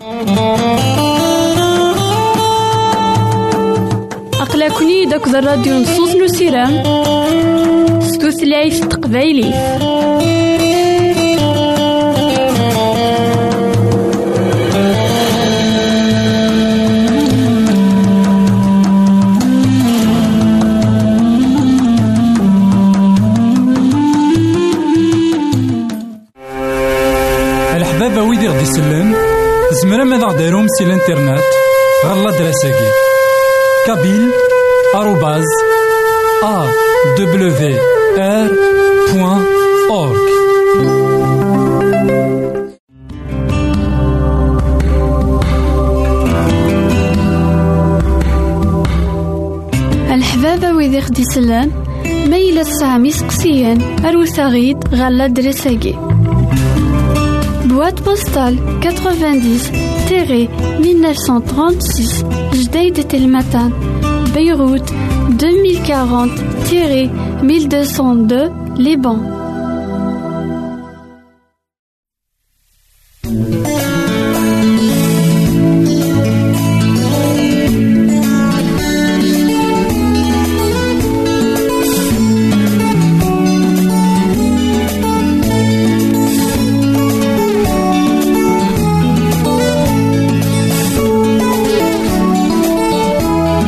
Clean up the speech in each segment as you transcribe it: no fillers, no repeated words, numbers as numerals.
أقلكني داك الراديو نصوص نسيران ستوثلايف تقبايلي. الحبابة ويدي غدي يسلم زمرا ماذا غديرهم سي الانترنت غالا دراساكي kabyle@awr.org. الحبابة ويدي غدي يسلم ميلا سامي سقسيان أروساغيد غالا دراساكي boîte postale 90-1936 Jdeïd Telmatan Beyrouth 2040-1202 Liban.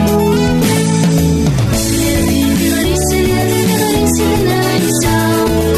So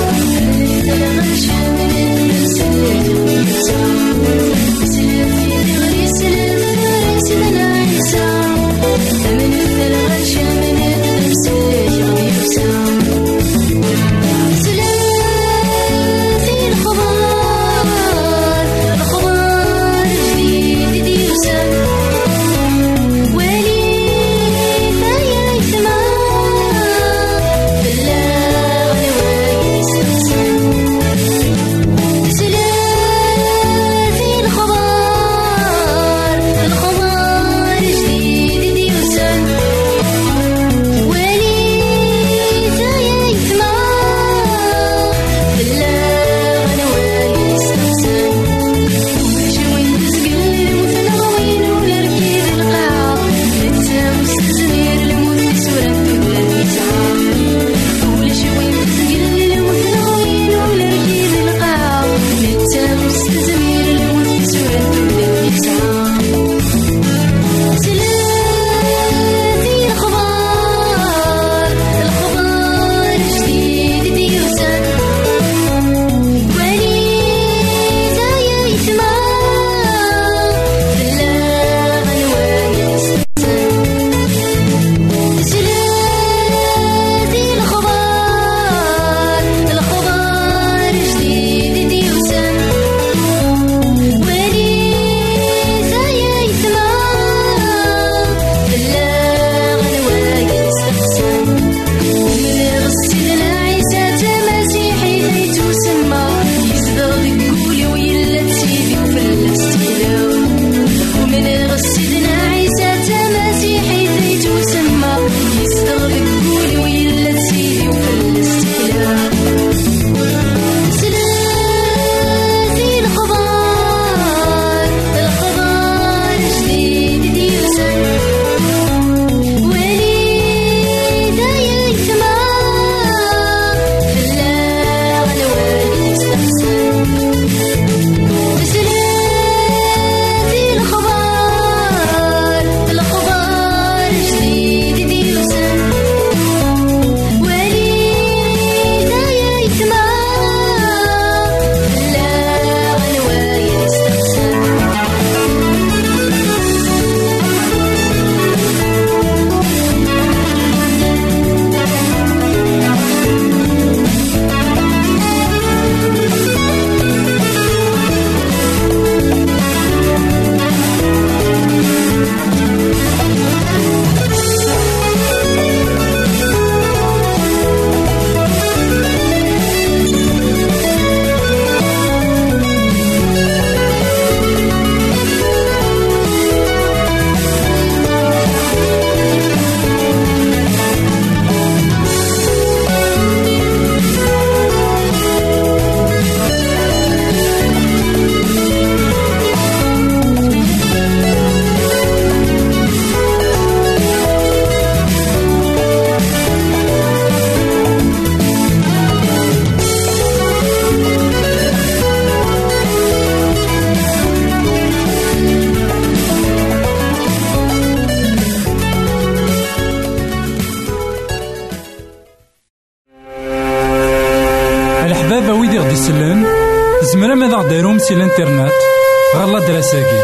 سلان زمرا ماذا غديرهم سي الانترنت غالا دراساكي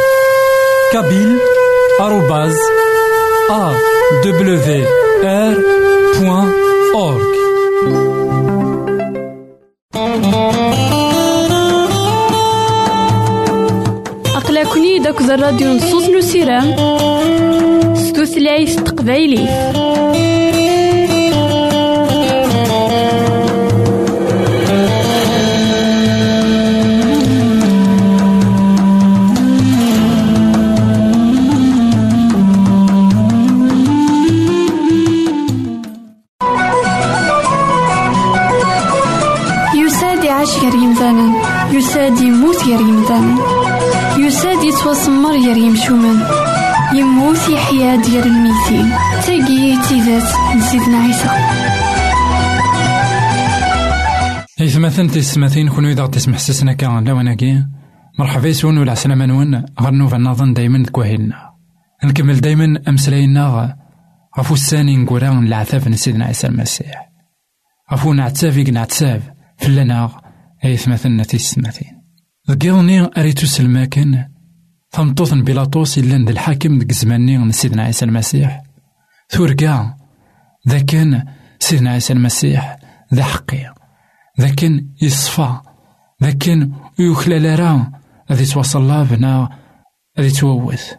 kabyle@awr.org. أقلكني داك الراديو نصوص نسيرام ستوثلايف تقبايلي. يساد يموت غير يمدان، يساد يتوسمر غير يمشومان، يموت يحيا ديال الميتين. تاقي تيدات نسيدنا عيسى. مثلا تسمثين كونو إذا تسمح سسنا كان لوناكي مرحبا يسون ولا عسلامة نون غنوفا نظن دايما دكواهيلنا نكمل دايما أمسلاينا غفو الساني نقورا العتاف نسيدنا عيسى المسيح غفو نعتافيك نعتاف فلنا أيث مثلنا تيسمثين ذكيرني أريتو سلماكن ثمطوثن بيلاطوس إلا ند الحاكم ديك زماني نسيدنا عيسى المسيح ثورقا ذاكن سيدنا عيسى المسيح ذا حقي ذاكن يصفى ذاكن يخلال راه غادي توصل لا بنا غادي تووث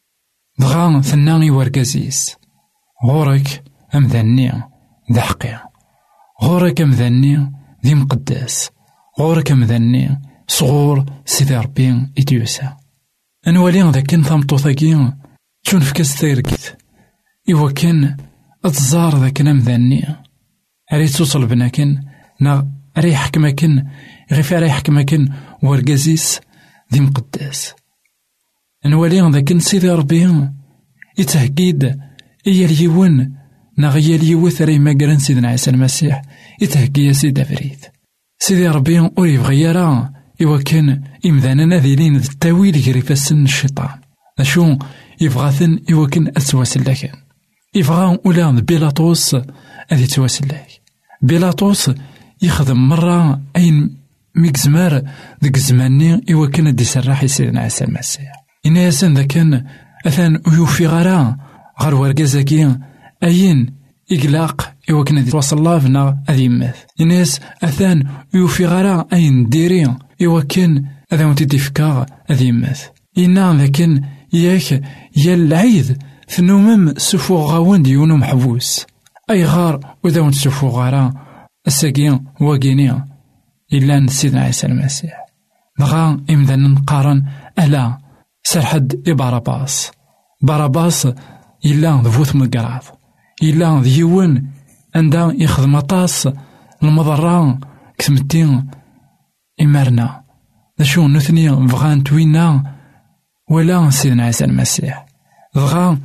دغا ثناني ورقازيس غورك أمذني ذا حقي غورك أمذني ذي مقدس غورك أمذني صغور سيدي ربي إديوسا أنوالي ذاكن ثمطوثاكي تشون فكاس تيركت إوا كان أتزار ذاكن أمذني أريد توصل بناكن نا أري حكمكن غيف أري حكمكن ورقازيس ذي مقدس أنوالي ذاكن سيدي ربي يتهكيد إيا اليون نغيا اليوث ري مقرن سيدنا عيسى المسيح يتهكي سيدي فريد سيدي ربي أوري بغيارا إوا كان إمذانا نذيلين التاويل غريفة سن الشيطان أشو يبغاثن إوا كان أتواسل لكن يبغا أولا بيلاطوس أذي تواسل لك بيلاطوس يخدم مرة أين ميكزمار ذيك زماني إوا كان دي سراحي سيدنا عيسى المسيح إنا ياسن ذا كان أثان يوفي غرا غير ورقازاكي أين إقلاق إوا كان دي توصل الله فينا أذي مث إناس أثان يوفي غرا أين ديري إوا كان أذا ونتي فكا أذي مث إنا لكن ياك يا العيد ثنومم سفو غاون ديونو محبوس أي غار وإذا ونت سفو غارا الساقين واقيني إلا سيدنا عيسى المسيح دغا إمذن نقارن ألا سرحد باراباس باراباس إلا ذفوت من القراض إلا ذيون عندها يخدم طاس المضرة كتمتين إمارنا ذا شو نثني بغان توينا ولا سيدنا عيسى المسيح بغا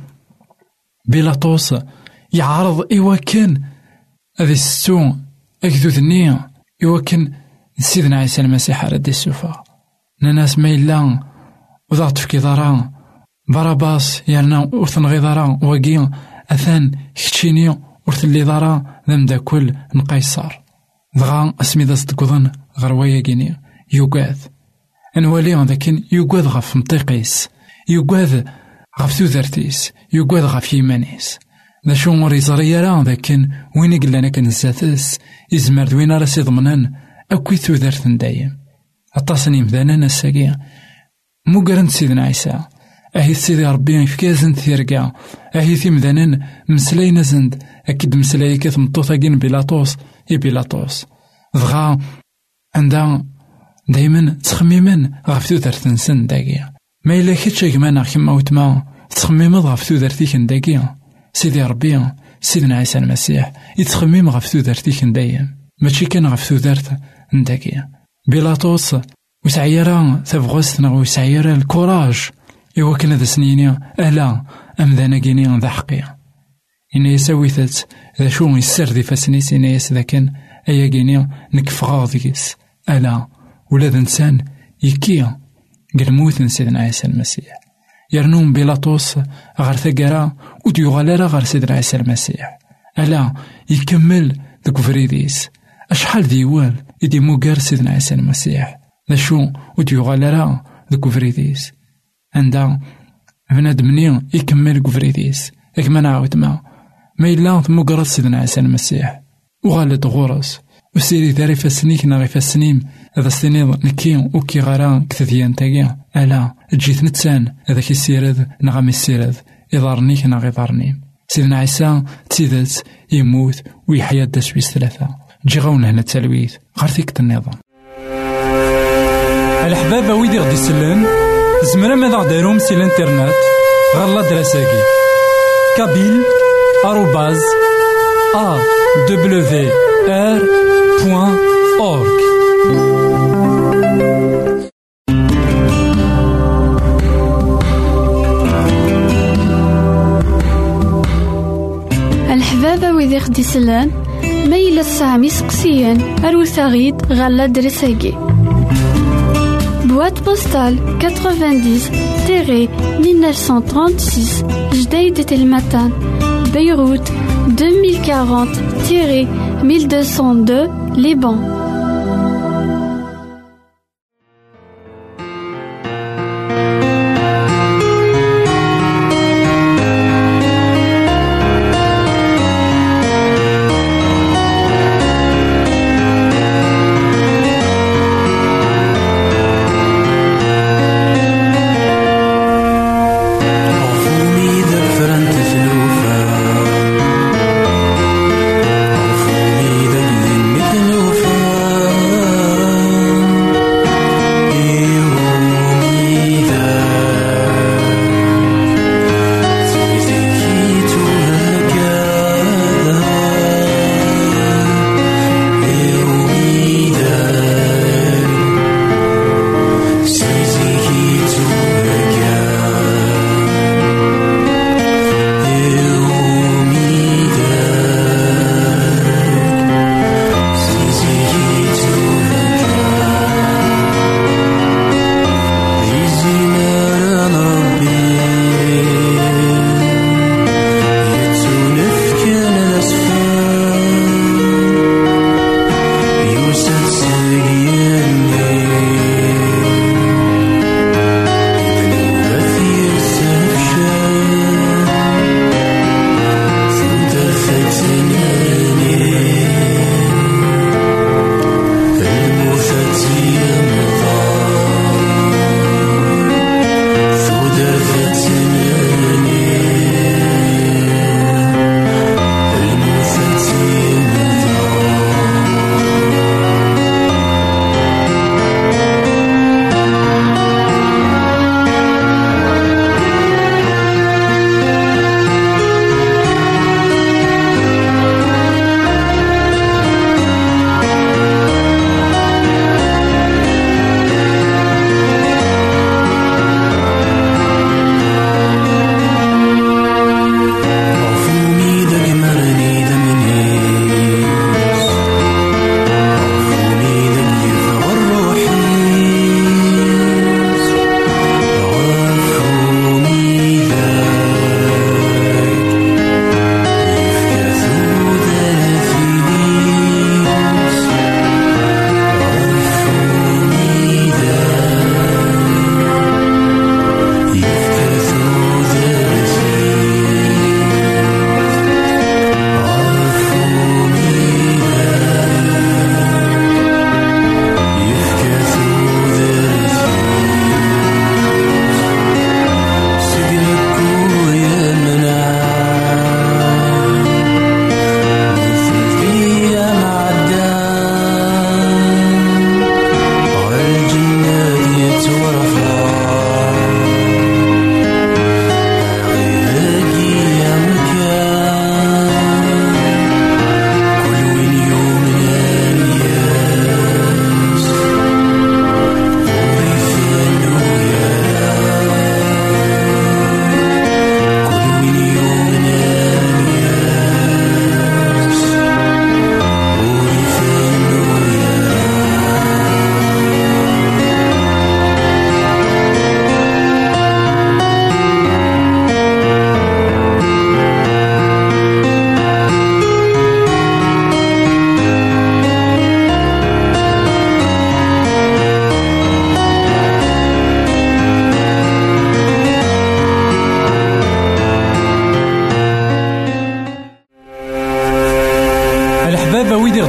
بيلاطوس يعرض إوا كان هذي السو أكذوذني إوا كان سيدنا عيسى المسيح على دي السوفا ناس ما إلا وضغط في كيضارا باراباس يالنا ورثن غيضارا واقيا أثان كتشيني ورثلي ضارا ذم دا كل نقيصر دغا اسمي دا صدقوضن غروايا كيني يوقاذ أنوالي لكن يوقاذ غف مطيقيس يوقاذ غف ثوذرتيس يوقاذ غف يمانيس ذا شو مريزاريا راه لكن وين قلنا كنزاتس إزمار دوين راسي ضمنان أكوي ثوذرتن دايم التصنيم ذانا الساقية مقرن سيدنا عيسى أهي سيدي ربي فكازن ثيرقا أهي ثيم ذانان مسلاينا زند أكيد مسلاي كثم طوثاقين بيلاطوس بيلاطوس دغا عندها دايما تخميما غفتو ذرتن سن داقيا ما إلا كتشا كمانا كما وتما تخميما غفتو ذرتيكن داقيا سيدي ربي سيدنا عيسى المسيح يتخميم غفتو ذرتيكن دايم ماشي كان غفتو ذرت داقيا بيلاطوس وسعيرا ثبغوستنا وسعيرا الكوراج إوا كان ذا سنيني ألا أم ذا ناقيني ذا حقيا إنا يساويثت ذا شو يسر ذي فاسنيس إنا يس ذا كان أيا قيني نكفغا ذيس ألا ولا ذا إنسان يكيا قال موت سيدنا عيسى المسيح يرنوم بيلاطوس غير ثقرا وديوغالارا غير سيدنا عيسى المسيح ألا يكمل ذاك فريديس أشحال ديوال إدي موغر سيدنا عيسى المسيح ذا شو وديو غالرا ذا كوفريديس عندها بنادم مني يكمل كوفريديس إكما نعاود ما إلا موغر سيدنا عيسى المسيح وغالد غورس وسيري ذاري فاسنيك ناغي فاسنيم هذا ستنيض نكي وكي غارا كثديان تاقيا ألا جيت نتسان هذاك السيرد نغم السيرد إضارنيك ناغي ضارنيم سيدنا عيسى تسيدت يموت ويحيا الدسويس 3 جي غاونا هنا التلويث غارتيك النظام الحباب ويدي غدي سلان زمرا ماذا غديرهم سي الانترنت غالا دراساكي كابيل @awr.org الحبابة ويدي خدي سلان ميل السامي سقسيان أروثاغيد غالا درساكي Boîte postale 90-1936 Jdeïd Telmatan Beyrouth 2040-1202 Liban.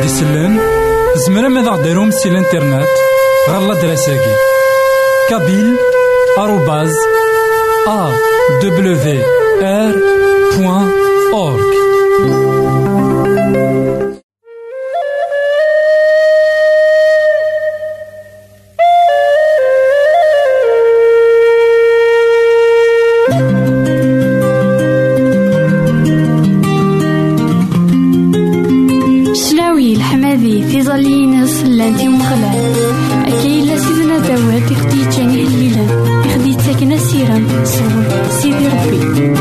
غادي يسلم زمرا ماذا غديرهم سي الانترنت غالا دراساكي kabyle@awr.org. تيزالينس لانتي مخلال أكيلا سيدنا داود يخدي تاني هليلا يخدي تاكنا سيران صور سيدي ربي.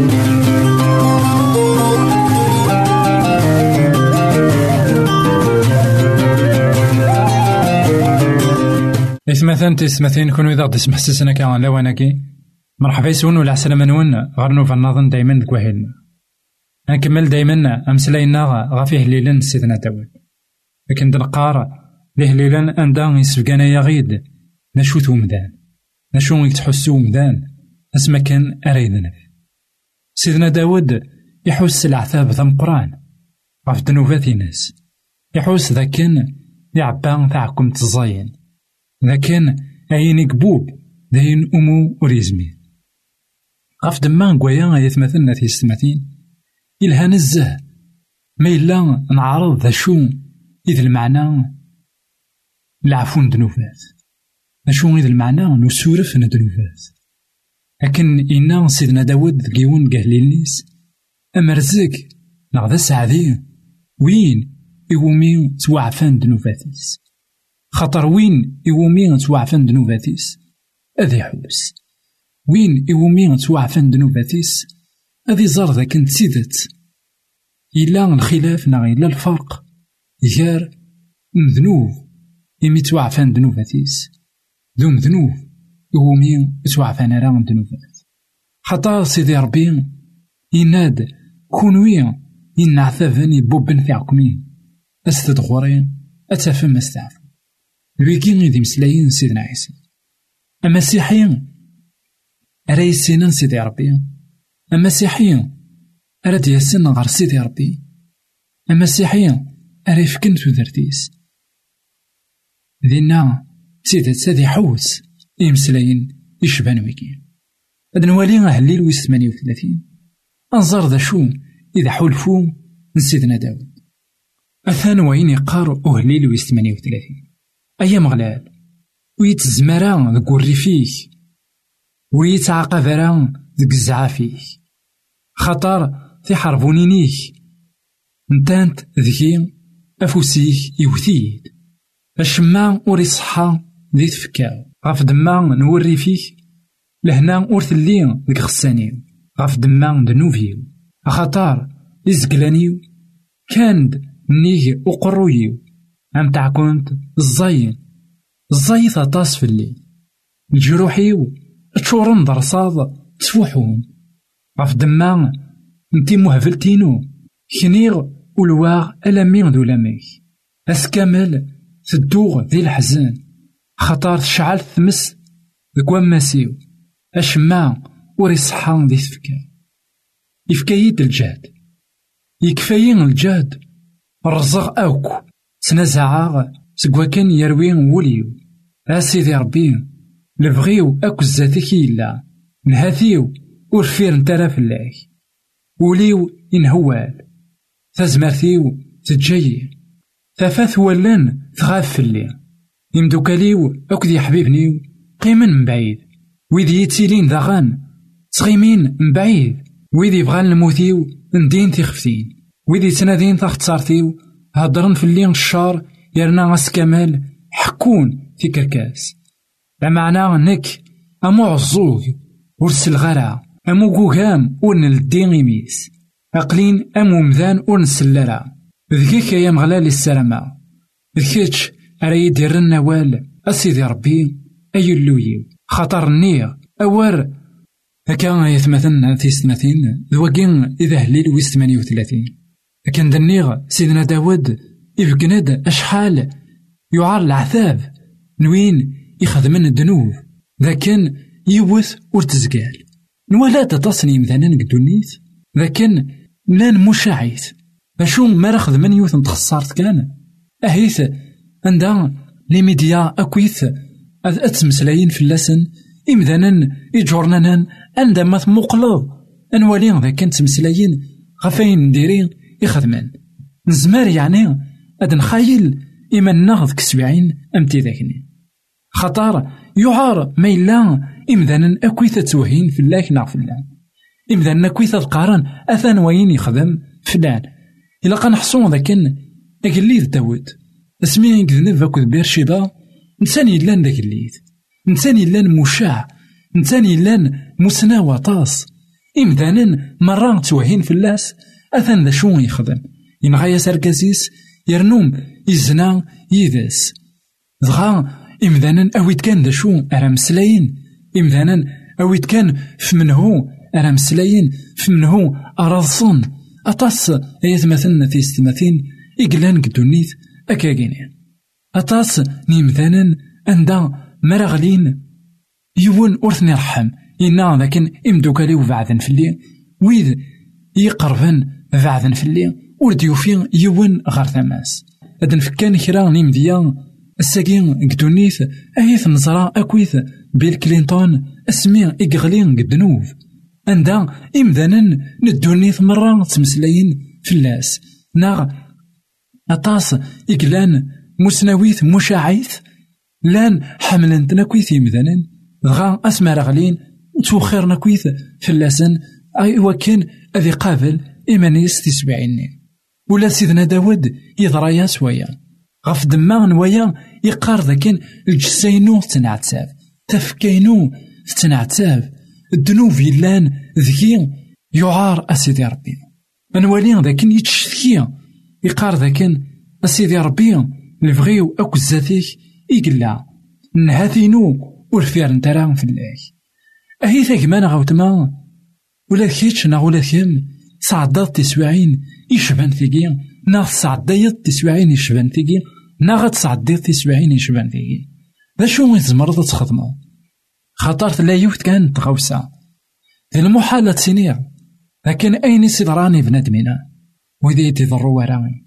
إثمثان تسمثين كونو إذا غدي سمح سسنا كان لواناكي مرحبا يسون ولا عسلامة نون غير نوفا نظن دايما دكواهيلنا نكمل دايما أمسلاينا غافيه ليلا سيدنا داود لكن دنقار ليه ليلا أندا يسفقانا يغيد نشوثو مدان نشو يتحسو مدان اسما كان أريدنا سيدنا داود يحوس العذاب ذا مقران غاف دنوبات ناس يحوس ذا كان يعبان ذاكم تزاين ذا كان عيني قبوب ذاين أمو وريزمين غاف دمان قويا يثمثلنا في السماتين إلها نزه ما إلا نعرض ذا شو إذا المعنى لعفون دنوفات أشو إذا المعنى نسورف ندنوفات لكن إنا سيدنا داود ذكيون قهلينيس أما رزق نغذا سعدي وين إومي توعفان دنوفاتيس خطر وين إومي توعفان دنوفاتيس أذي حوس وين إومي توعفان دنوفاتيس أذي زار ذا كنت سيدت إلا الخلاف نغي إلا الفرق يجار مذنوب إمي توعفان دنوباتيس ذو مذنوب يومي توعفان راه دنوبات خطا سيدي ربي يناد كونويا ينعثفني بوبن فيعكمين أستدغورين أتفهم أستعفو لويكين يدي مسلايين سيدنا عيسى أما سيحيين أرايسينا سيدي ربي أما سيحيين أراد ياسين غير سيدي ربي أما سيحيين أريف كنتو درتيس ذينا سيدة سادي حوس إمسلاين يشبان ويكين هاد نوالي أهليل ويس 38 أنظر ذا شو إذا حولفو نسيدنا داود أثان وين يقار أهليل ويس 38 أيام غلال ويتزمران ذا قوري فيه ويتعاقبران ذا قزعا فيه خطر في حربونينيك نتانت ذكي أفوسيك يوثيد الشما وري صحا ذي تفكاو غاف دما نوري فيك لهنا ورثلي ذيك خسانيو غاف دما دنوفيو أخطار إزقلانيو كاند نيجي أقرويو أم تعكونت الزاين ثطاس في الليل الجروحيو تشورن درصاد تفوحون غاف دما نتي مهفلتينو كنيغ ولواغ ألمين ذو لميك أسكامل تدوغ ذي الحزن خطار تشعل ثمس ذكوان ماسيو أشما وري صحان ذي تفكا يفكايد الجهد يكفاين الجهد الرزق أوكو تنازعاغ سكوا كان يروين وليو أسيدي ربي لبغيو أكو الزاتك إلا نهاثيو ورفير نترى في الله وليو إنهوال تزمرتيو تجيي ثفاث ولان تغاف في الليل يمدوكاليو أكدي حبيبنيو قيمن من بعيد ويدي يتسيلين ذاغان تغيمين من بعيد ويدي بغان الموتيو ندين تيخفتين ويدي تنادين تاختصارتيو هضرن في الليل الشار يرنا غاس كمال حكون في كركاس بمعنى نك أمو عزوغ ورسل غرا أمو قوغام ورنلدين غيميس أقلين أمو مذان ورنسلرا ذكيك يا مغلال السلامة ذكيتش أري دير النوال أسيدي ربي أي اللويو خطر النير أور هكا يثمثلنا في 30 ذوقين إذا هليل ويس 38 لكن دنيغ سيدنا داود يفقند أشحال يعار العذاب نوين يخدمن الذنوب ذا كان يوث ورتزقال نوالا تصني مثلا قدونيت لكن لان مشاعيت باشو ما رخذ من يوث نتخسرت كان أهيث عندها لي ميديا أكويث أتمسلاين في اللسن إمذانا إجورنانا عندما تمقلض أنوالي ذا كانت تمسلاين غفاين نديرين يخدمان نزمار يعني أد نخايل إما ناخذ كسبعين أمتي ذاكني خطار يعار ما إلا إمذانا أكويث توهين في الله ناغ في الله إمذانا أكويث القارن أثان وين يخدم فلان إلا قنحصون ذاكن أقليذ داود اسمي كذنب فاكو بيرشيبا نساني لان داك الليث نساني لان مشاع نساني لان مسنا وطاس إمذانا مرة توهين في اللاس أثان ذا شو يخدم ينغايا ساركازيس يرنوم يزنا يذاس دغا إمذانا أويت كان ذا شو أرام سلاين إمذانا أويت كان فمنهو أرام سلاين فمنهو أراضصن أطاس أيث مثلنا في استماثين إقلان قدونيث أكاقينين أطاس نيمذانا أندا مرغلين يون أرثني رحم إنا لكن إمدوكالي وبعثن في الليل ويذ يقربن بعثن في الليل ورديوفين يون غار ثماس أدن فكان كرا نيمديا الساقين قدونيث أيث نزرا أكويث بيل كلينتون اسمي إقغلين قدنوف أندا إمذانا ندونيث مرة تمسلاين في اللاس ناغ أطاس إقلان مسنويث مشاعيث لان حملن تناكويث يمذانا دغا أسمى رغلين وتوخيرنا كويث في اللسن أي وكان أذي قابل إيمانيس تسبعيني ولا سيدنا داود يضرايا سويا غف دما نوايا يقار ذاكن الجسينو تنعتاب تفكينو تنعتاب الدنوب يلان ذكي يعار أسيدي ربي أنوالي ذاكن يتشتكي يقار ذاكن أسيدي ربي نبغيو أكو الزاتيك إقلا نهاثينو ورفير نترا في الله أهي ثاكمان غاوتما ولا كيتش نا ولا كيم صعدات تسوعين يشبان ثيقي نا صعدات تسوعين يشبان ثيقي نا غتصعدات تسوعين يشبان ثيقي ذا شو تزمرض تخدمو خاطرت لا يوت كانت تغوسا المحالة سنير لكن أين سيدراني بنادمنا وإذا يتضروا وراءك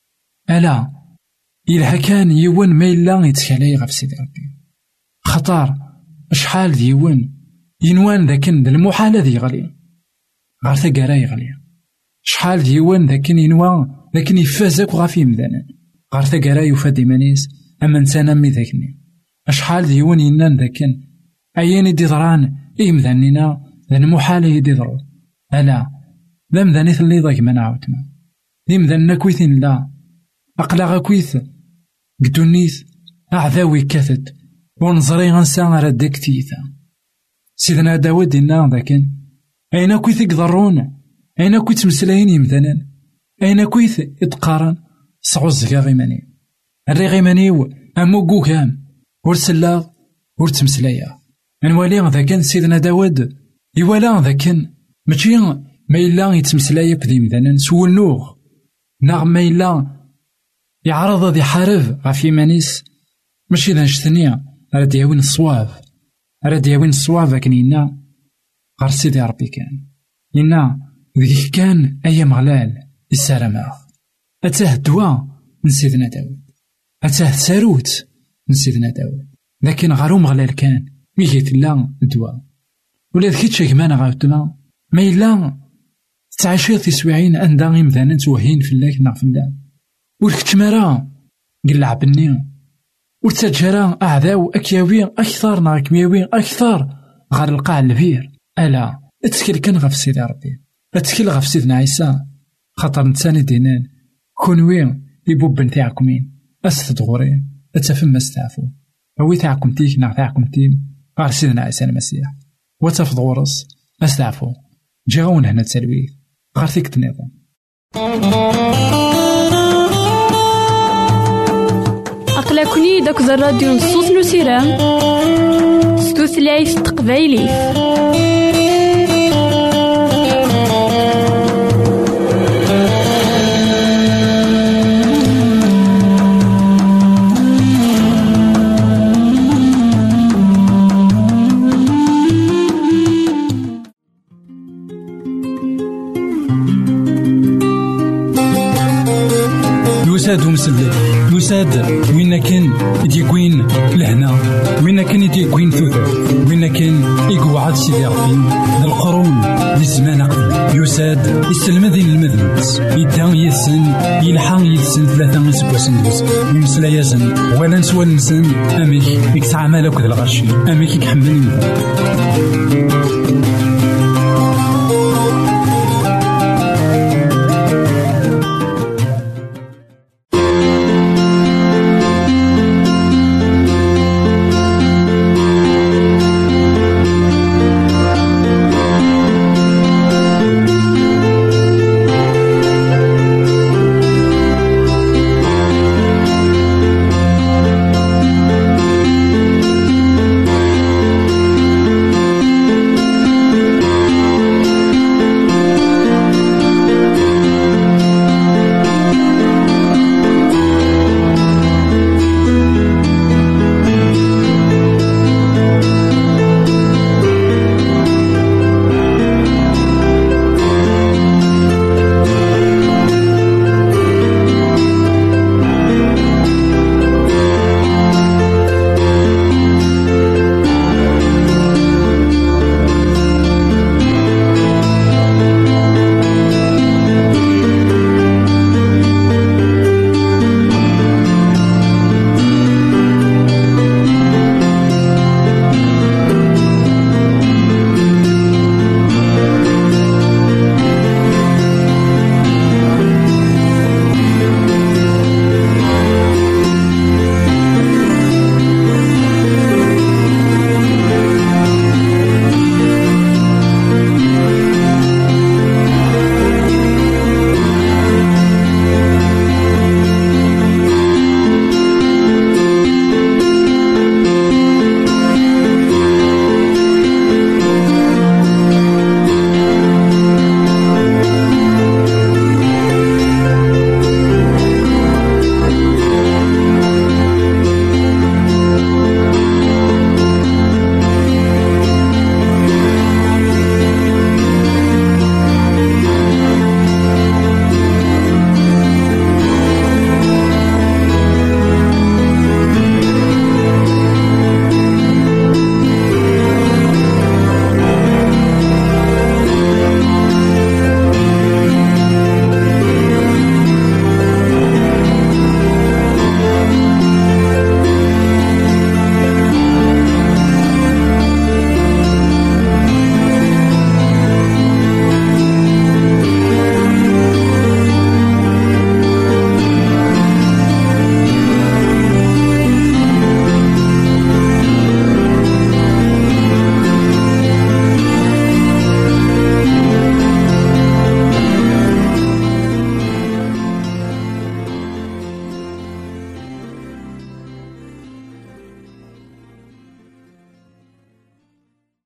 ألا إلها كان يون ما إلا يتكالي غف سيدي ربي خطار شحال ديون ينوان ذاكن المحالة ذي غالي غار ثقارا يغلي شحال ديون ذاكن ينوان ذاكن يفازك وغافي مذانا غار ثقارا يفاد إيمانيس أما نسانا مي ذاكني شحال ديون ينان ذاكن أياني دي ضران إي مذانينا ذا المحالة يدي ضرو ألا ذا مذانيث اللي ضاك ما نعاوتما ذي مذانا كويثين لا أقلاغا كويث قدونيث أعذاوي كاثد ونظري غنسا ردك تيثا سيدنا داود إنا ذاكن أين كويث يقدرون أين كويث مسلاين يمثلا أين كويث يتقارن صعوز غيماني الرغيمانيو أمو قوكام ورسلاغ ورتمسلايا نوالي ذاكن سيدنا داود يوالا ذاكن ماشي ما إلا يتمسلايا بذي مثلا سول نوغ ناغ ما إلا يعرض ذي حارب غافي مانيس ماشي ذا نشتنيا راد يهوين الصواب راد يهوين الصواب لكن إنا غار سيدي ربي كان إنا ذيك كان أيام غلال السلامة أتاه الدواء من سيدنا داود أتاه ساروت من سيدنا داود لكن غاروم غلال كان ميجيت لا الدواء ولا ذكيت شاكمانا غاوتما ما إلا تعاشير تسويعين عندها غيمذانا توهين في الله كنا في الله والكتمارا قلع بني وتجرى أعداو أكياوي أكثر نا كمياوي أكثر غار القاع البير ألا اتكل كان غف سيدي ربي اتكل غف سيدنا عيسى خاطر نتساني دينان كونوي يبوب نتاعكمين أستدغورين أتفهم استعفو أوي تاعكم تيك نا تاعكم تيم غار سيدنا عيسى المسيح وتفض غورس أستعفو جاون هنا تسلويه غار ثيك تنظم أقلكني داك الراديو نصوص نسيران ستوثلايف تقبايلي يسادهم سلي يساد وين كان يديكوين لهنا، وين كان يديكوين ثوثر، وين كان يقعد سيدي ربي القرون للزمان قبل. يساد يسلمذ المذنبس يدان يسن يلحق يسن 3 سبوسن يمسلا يزن ولا نسوى نسن أميك يكسع مالك ذا الغشي أميك يحملني.